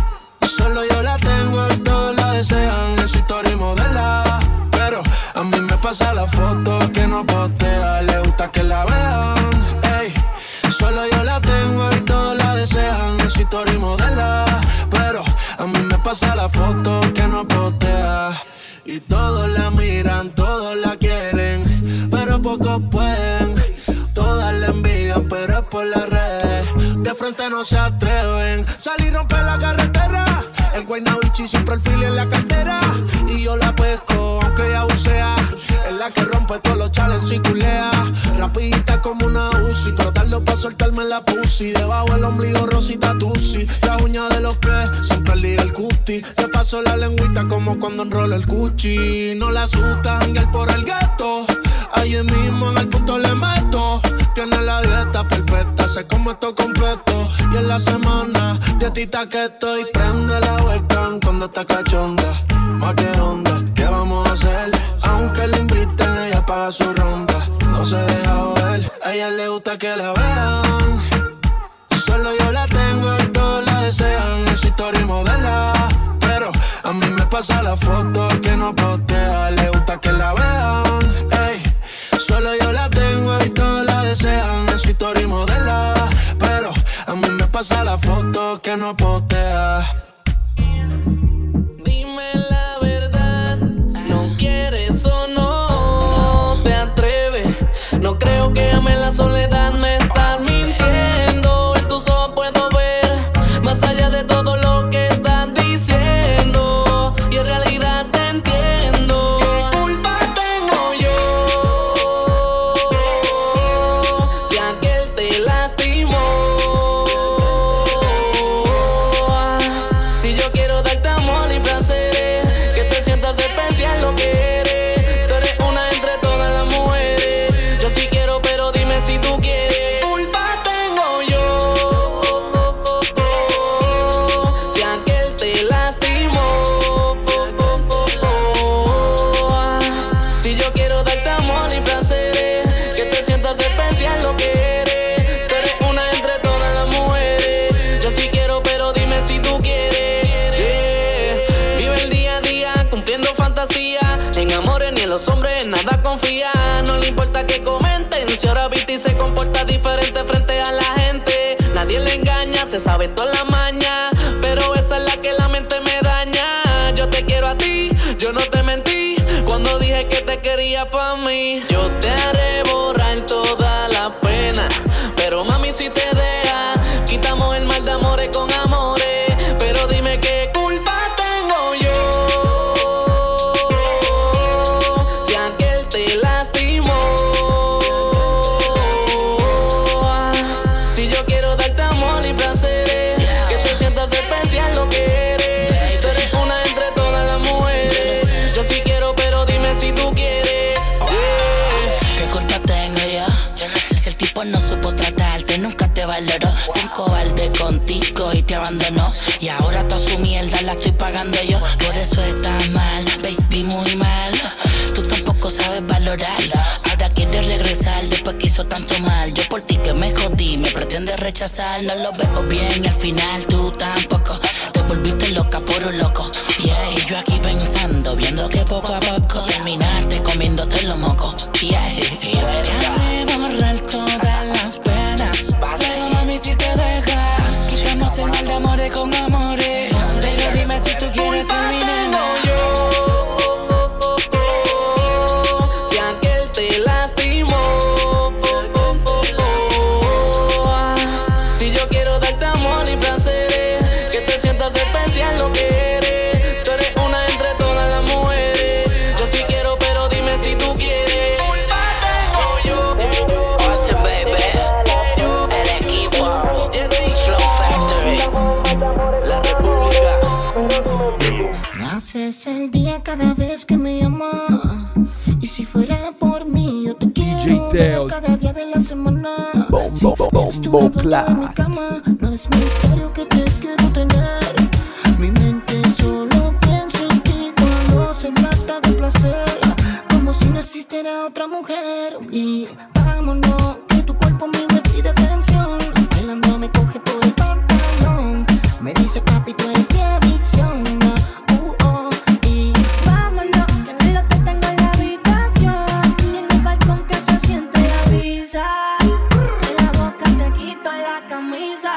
Solo yo la tengo y todos la desean. En su historia y modela. Pero a mí me pasa la foto que no postea. Le gusta que la vean. Ey, solo yo la tengo y todos la desean. En su historia y modela. Pero a mí me pasa la foto que no postea. Y todos la miran, todos la quieren, pero pocos pueden. Todas la envidian, pero es por las redes. De frente no se atreven. Salir y romper la carretera. El Guaynabichi siempre el fili en la cartera. Y yo la pesco, aunque ella bucea. Es la que rompe todos los challenges y culea. Rapidita como una Uzi, pero tarde pa' soltarme la pussy. Debajo el ombligo rosita tusi. La uña de los pies, siempre liga el cuti. Le paso la lengüita como cuando enrola el cuchi. No la asusta janguear por el gueto. Allí mismo en el punto le meto. Tiene la dieta perfecta, se come esto completo. Y en la semana, dietita que estoy. Prende la webcam cuando está cachonda. Más que onda, ¿qué vamos a hacer? Aunque le inviten, ella paga su ronda. No se deja joder, a ella le gusta que la vean. Solo yo la tengo y todos la desean. En su historia y modela. Pero a mí me pasa la foto que no postea. Le gusta que la vean. Ey, solo yo la tengo y todos la desean. En su historia y modela. Pero a mí me pasa la foto que no postea. Dime la verdad, ¿no quieres o no te atreves? No creo que ames la soledad, me estás mintiendo. En tus ojos puedo ver más allá de todo lo que estás diciendo. Y en realidad te entiendo. ¿Qué culpa tengo yo si aquel te lastimó? Si yo quiero darte amor y placeres, que te sientas especial lo que eres. Tú eres una entre todas las mujeres. Yo sí quiero, pero dime si tú quieres. Culpa tengo yo si aquel te lastimó. Si yo quiero darte amor y placeres, que te sientas especial lo que eres. Tú eres una entre todas las mujeres. Yo sí quiero, pero dime si tú quieres. Yeah. Vive el día a día cumpliendo fantasía. En amores ni en los hombres nada confía. No le importa que comenten. Si ahora viste y se comporta diferente frente a la gente. Nadie le engaña, se sabe toda la maña. Pero esa es la que la mente me daña. Yo te quiero a ti, yo no te mentí cuando dije que te quería pa' mí. Yo te haré borrar toda la pena, pero mami si te deja, quitamos el mal de amores con amores. Pero dime qué culpa tengo yo si aquel te lastimó. Si yo quiero darte amor y placeres, que te sientas especial lo que eres. Tú eres una entre todas las mujeres. Yo sí quiero, pero dime si tú quieres. ¿Qué culpa tengo yo? Si el tipo no supo tratarte, nunca te valoró. Fue un cobarde contigo y te abandonó. Y ahora toda su mierda la estoy pagando yo. Por eso estás mal, baby, muy mal. Tú tampoco sabes valorar. Ahora quieres regresar después que hizo tanto mal. Yo por ti que me jodí, me pretendes rechazar. No lo veo bien y al final tú tampoco. Te volviste loca por un loco. Yeah, y yo aquí pensando, viendo que poco a poco terminaste comiéndote los mocos. Yeah, yeah. Déjame borrar todas las penas, pero mami si te dejas, quitamos el mal de amores con amores. Pero dime si tú quieres ser mi nena. Si aquel te lastimó. Si yo quiero darte amor y placeres, que te sientas especial lo que eres. Tú eres una entre todas las mujeres. Yo sí quiero, pero dime si tú quieres. Awesome, baby. El equipo, Flow Factory. Haces el día cada vez que me llamas. Y si fuera por mí, yo te quiero ver cada día de la semana. Si eres tú la dueña de mi cama, no es misterio que te quiero tener. Mi mente solo piensa en ti cuando se trata de placer, como si no existiera otra mujer. Y vámonos, que tu cuerpo a mí me pide atención. Bailando me coge por el pantalón. Me dice papi, tú eres mi adicción. Uh, oh. Y vámonos, que en el hotel tengo la habitación. Y en el balcón que se siente la brisa. En la boca te quito la camisa.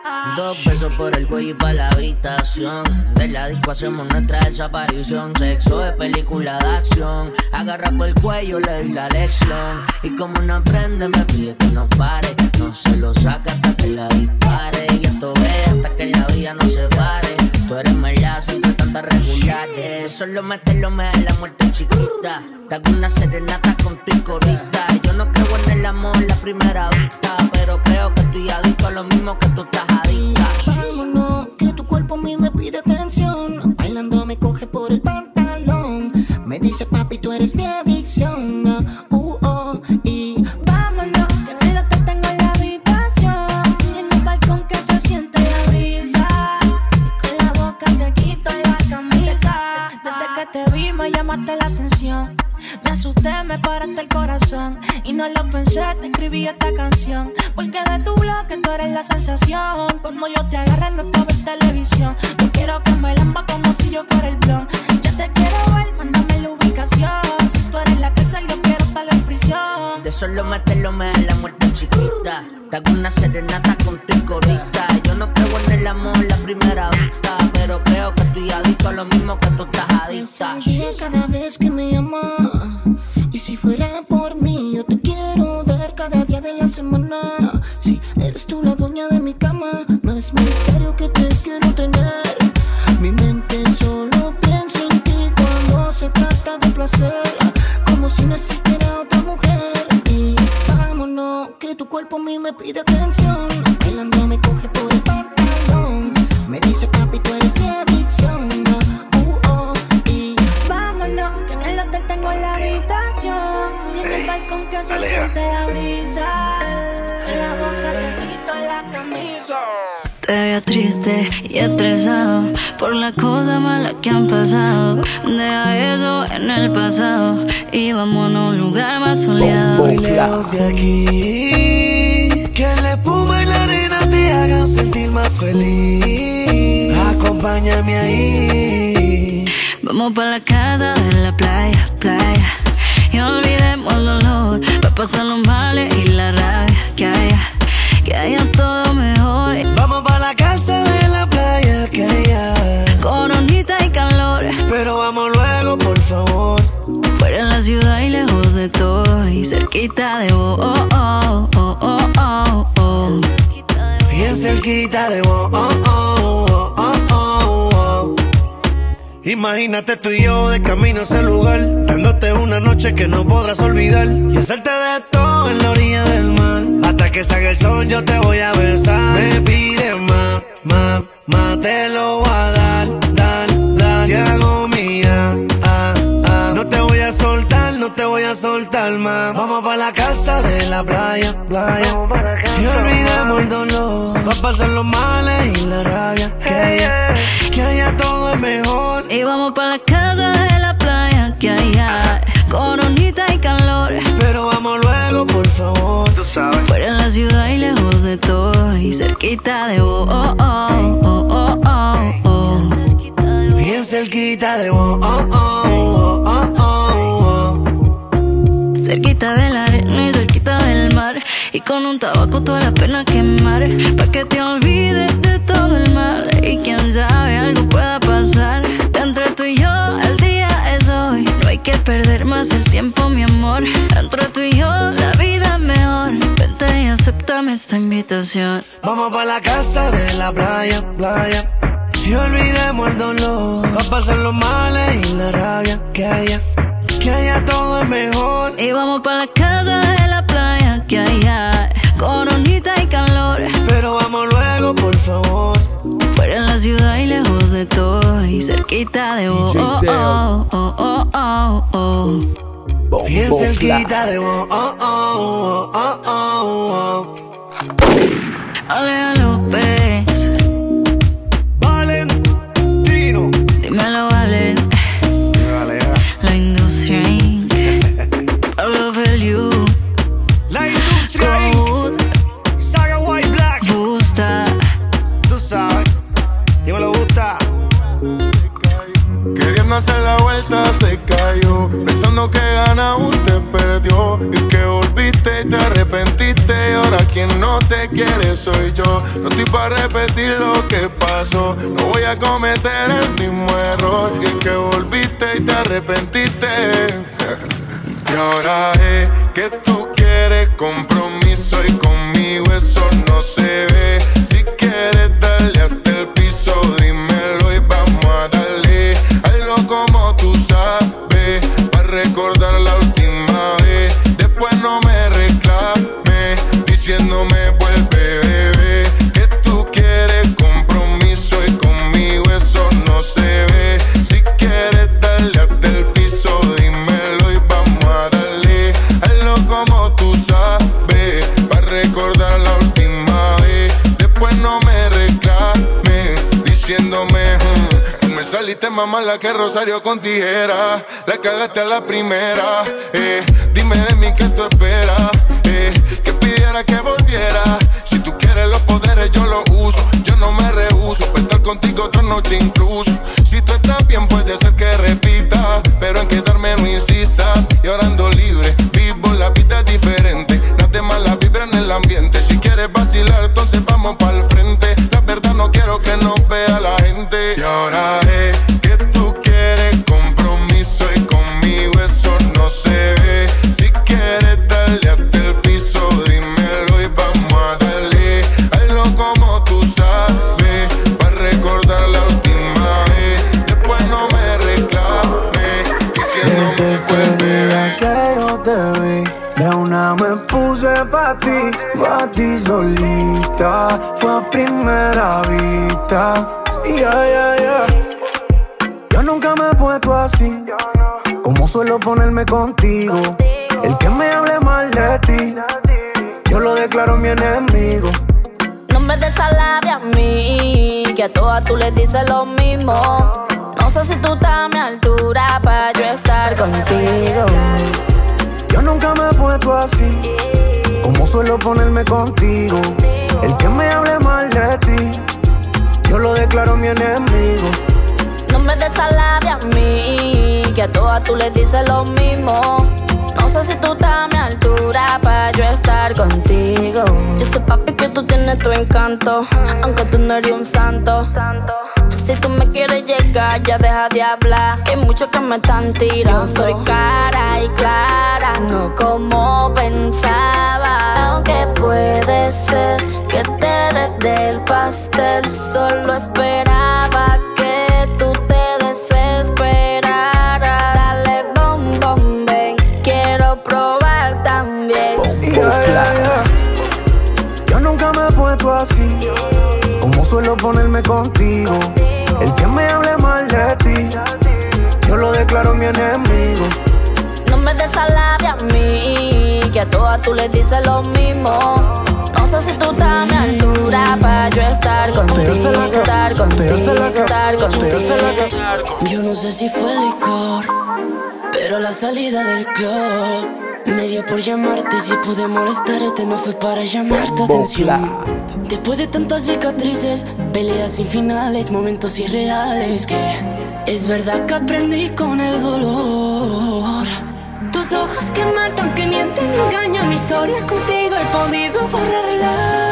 Dos besos por el cuello y pa' la habitación. De la disco hacemos nuestra desaparición. Sexo de película de acción. Agarra por el cuello, le doy la lección. Y como no aprende, me pide que no pare. No se lo saca hasta que la dispare. Y esto ve hasta que la vida no se pare. Tú eres melaza entre tantas regulares. Solo mételo, me da la muerte chiquita. Te hago una serenata con tu corita. Yo no creo en el amor la primera vista, pero creo que estoy adicto a lo mismo que tú estás adicta. Vámonos, que tu cuerpo a mí me pide atención. Bailando me coge por el pantalón. Me dice papi, tú eres mi adicción. Uh, oh. Y vámonos, que en el hotel tengo la habitación. Y en el balcón que se siente la brisa. Y con la boca te quito la camisa. Desde que te vi me llamaste la atención. Me asusté, me paraste el corazón. Y no lo pensé, te escribí esta canción. Porque de tu bloque tú eres la sensación. Cuando yo te agarre no es para ver televisión. Yo quiero que me lamba como si yo fuera el blon. Ya te quiero ver, mándame la ubicación. Si tú eres la cárcel, yo quiero estar en prisión. De solo meterlo me da la muerte chiquita. Te hago una serenata con tu corita. Yo no creo en el amor la primera vista, pero creo que estoy adicto a lo mismo que tú estás adicta. Cada vez que me llamas. Y si fuera por mí, yo te quiero ver cada día de la semana. Si eres tú la dueña de mi cama, no es misterio que te quiero tener. Mi mente solo piensa en ti cuando se trata de placer, como si no existiera otra mujer. Y vámonos, que tu cuerpo a mí me pide atención. Bailando me coge por el pantalón. Me dice papi, tú eres mi adicción. Uh, oh. Y vámonos, que en el hotel tengo la habitación. Y en el balcón que se siente la brisa. Con la boca te quito la camisa. Te veo triste y estresado por las cosas malas que han pasado. Deja eso en el pasado y vámonos a un lugar más soleado. Muy lejos de aquí, que la espuma y la arena te hagan sentir más feliz. Acompáñame ahí. Vamos pa' la casa de la playa, playa. Y olvidemos el dolor, pa' pasar los males y la rabia que haya, que haya todo mejor. Vamos pa' la casa de la playa que haya coronita y calor, pero vamos luego, por favor. Fuera en la ciudad y lejos de todo, y cerquita de vos, oh, oh, oh, oh, oh, oh. Bien cerquita de vos, oh, oh, oh, oh, oh, oh. Imagínate tú y yo de camino a ese lugar, dándote una noche que no podrás olvidar, y hacerte de todo en la orilla del mar. Hasta que salga el sol yo te voy a besar. Me pides más, más, más, te lo voy a dar, dar, dar. Te hago mía, ah, ah. No te voy a soltar, no te voy a soltar más. Vamos pa' la casa de la playa, playa. Y olvidemos el dolor, va a pasar los males y la rabia. Que haya, que haya todo es mejor. Y vamos pa' la casa de la playa que haya coronita y calor, pero vamos luego, por favor. Tú sabes. Fuera en la ciudad y lejos de todo, y cerquita de vos, oh, oh, oh, oh, oh, oh. Bien cerquita de vos, oh, oh, oh, oh, oh. Cerquita de la arena y cerquita del mar, y con un tabaco toda la pena quemar, pa' que te olvides de todo el mal. Y quién sabe, algo pueda pasar. Entre tú y yo, el día es hoy. No hay que perder más el tiempo, mi amor. Entre tú y yo, la vida es mejor. Vente y acéptame esta invitación. Vamos pa' la casa de la playa, playa. Y olvidemos el dolor, va a pasar los males y la rabia. Que haya, que haya todo es mejor. Y vamos pa' la casa de la playa que haya coronita y calor, pero vamos luego, por favor. Fuera en la ciudad y lejos de todo, y aquí cerquita de vos. Oh, oh, oh, oh, oh, oh. Bien cerquita de vos. Oh, oh, oh, oh, oh. Alea López. Valentino. Dímelo, Valen. Vale, La industria inc. Pablo Feliu. La industria inc. Saga White Black. Gusta. Tú sabes. Dímelo, gusta. Queriendo hacer la vuelta se cayó, pensando que gana aún te perdió, y que volviste y te arrepentiste, y ahora quien no te quiere soy yo. No estoy para repetir lo que pasó, no voy a cometer el mismo error, y que volviste y te arrepentiste. Y ahora es que tú quieres compromiso y conmigo eso no se ve. Si quieres darle hasta el piso, dímelo y vamos a darle. Hazlo como tú sabes, para recordar la última vez. Después no me reclames, diciéndome vuelve, bebé. Que tú quieres compromiso y conmigo eso no se ve. Si quieres darle hasta el piso, dímelo y vamos a darle. Hazlo como tú sabes, para recordar la última vez. Después no me reclames, diciéndome hmm. Tú me saliste más mala que Rosario con tijera. La cagaste a la primera, eh. Dime de mí qué tú esperas, eh. Que pidiera que volviera. Si tú quieres los poderes yo los uso. Yo no me rehuso, para estar contigo otra noche incluso. Si tú estás bien puede ser que repita, pero en quedarme no insistas. Y ahora ando libre, vivo la vida diferente. Nada más la vibra en el ambiente. Si quieres vacilar entonces vamos pa'l frente. La verdad no quiero que nos vea la gente. Y ahora es que tú quieres compromiso y conmigo eso no se ve. Si quieres darle hasta el piso, dímelo y vamos a darle. Hazlo como tú sabes, para recordar la última vez. Después no me reclames, Desde ese diciéndome día que yo te vi, de una me puse pa' ti, pa' ti solita. Fue a primera vista. Yeah, yeah, yeah. Yo nunca me he puesto así, como suelo ponerme contigo. El que me hable mal de ti, yo lo declaro mi enemigo. No me des a labia a mí, que a todas tú les dices lo mismo. No sé si tú estás a mi altura para yo estar contigo. Yo nunca me he puesto así, como suelo ponerme contigo. El que me hable mal de ti, yo lo declaro mi enemigo. No me des a labia a mí, que a todas tú les dices lo mismo. No sé si tú estás a mi altura para yo estar contigo. Yo sé, papi, que tú tienes tu encanto, aunque tú no eres un santo. Si tú me quieres llegar, ya deja de hablar, que hay muchos que me están tirando. Yo soy cara y clara, no como pensaba. Aunque puede ser que te des del pastel, solo esperaba que tú te desesperaras. Dale bom bom ven, quiero probar también. Yeah, yeah, yeah. Yo nunca me he puesto así, como suelo ponerme contigo. El que me hable mal de ti, yo lo declaro mi enemigo. No me des a labia a mí, que a todas tú les dices lo mismo. No sé si tú estás a mi altura para yo estar contigo, estar contigo, estar contigo. Yo no sé si fue el licor, pero la salida del club me dio por llamarte. Si pude molestarte no fue para llamar tu atención. Después de tantas cicatrices, peleas sin finales, momentos irreales, que es verdad que aprendí con el dolor. Tus ojos que matan, que mienten, engañan. Mi historia contigo he podido borrarla.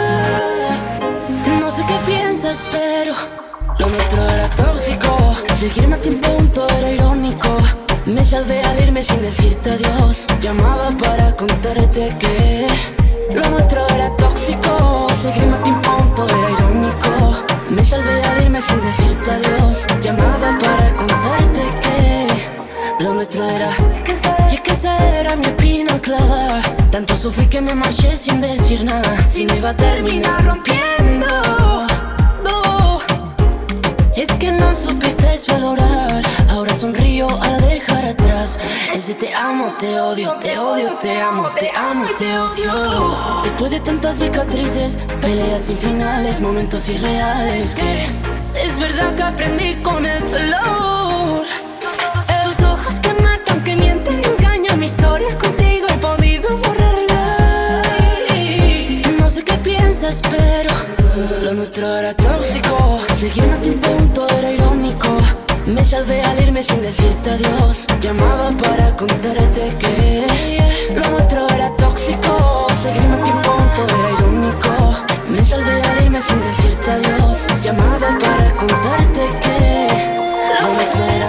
No sé qué piensas, pero lo nuestro era tóxico. Seguirme a ti en punto era irónico. Me salvé al irme sin decirte adiós. Llamaba para contarte que lo nuestro era tóxico. Seguirme a ti en punto era irónico. Me salvé al irme sin decirte adiós. Llamaba para contarte que lo nuestro era. Y es que esa era mi espina clavada. Tanto sufrí que me marché sin decir nada. Si no iba a terminar rompiendo. Es que no supiste valorar, ahora sonrío al dejar atrás ese te amo, te odio, te odio, te amo, te amo, te odio. Después de tantas cicatrices, peleas sin finales, momentos irreales, que es verdad que aprendí con el dolor. Tus ojos que matan, que mienten, engañan, mi historia contigo he podido borrarla. No sé qué piensas, pero lo nuestro era tóxico. Seguirme a ti en punto era irónico. Me salvé al irme sin decirte adiós. Llamaba para contarte que lo nuestro era tóxico. Seguirme a ti en punto era irónico. Me salvé al irme sin decirte adiós. Llamaba para contarte que lo nuestro era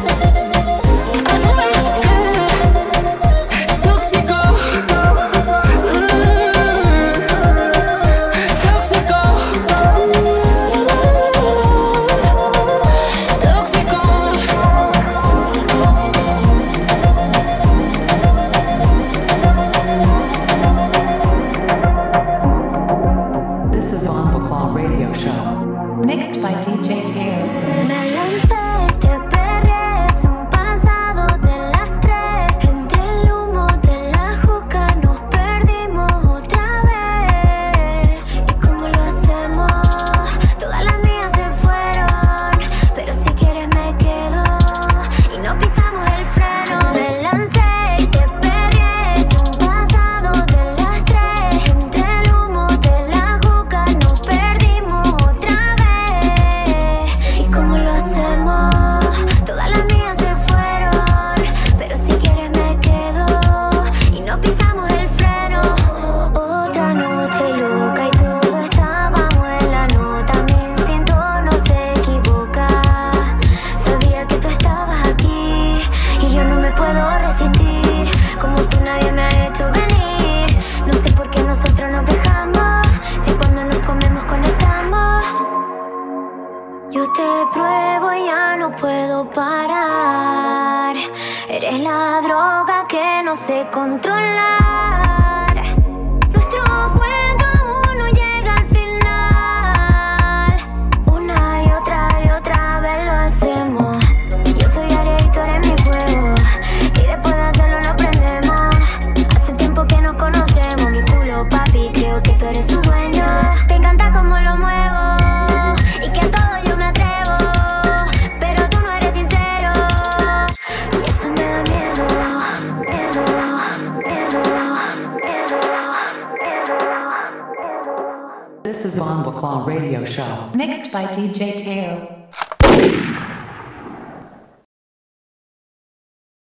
Mixed by D J Teo. Me lancé, te perré, es un pasado de las tres. Entre el humo de la juca nos perdimos otra vez. ¿Y cómo lo hacemos? Todas las mías se fueron, pero si quieres me quedo y no pisamos el freno. Me lancé, te perré, es un pasado de las tres. Entre el humo de la juca nos perdimos otra vez. ¿Y cómo lo hacemos? Todas las mías se fueron, pero si quieres me quedo y no pisamos el freno. Otra noche loca y todo estábamos en la nota. Mi instinto no se equivoca. Sabía que tú estabas aquí y yo no me puedo resistir. Como tú nadie me ha hecho venir. No sé por qué nosotros nos dejamos, si cuando nos comemos conectamos. Yo te pruebo y ya no puedo parar. Eres la droga que no sé controlar. Nuestro cuento aún no llega al final. Una y otra y otra vez lo hacemos. Yo soy Aries y tú eres mi fuego, y después de hacerlo lo aprendemos. Hace tiempo que nos conocemos. Mi culo, papi, creo que tú eres su dueño. Te encanta cómo lo muevo y que a todo yo me atrevo, pero tú no eres sincero y eso me da miedo, miedo, miedo, miedo, miedo. This is Bomba Claw Radio Show. Mixed by D J Teo.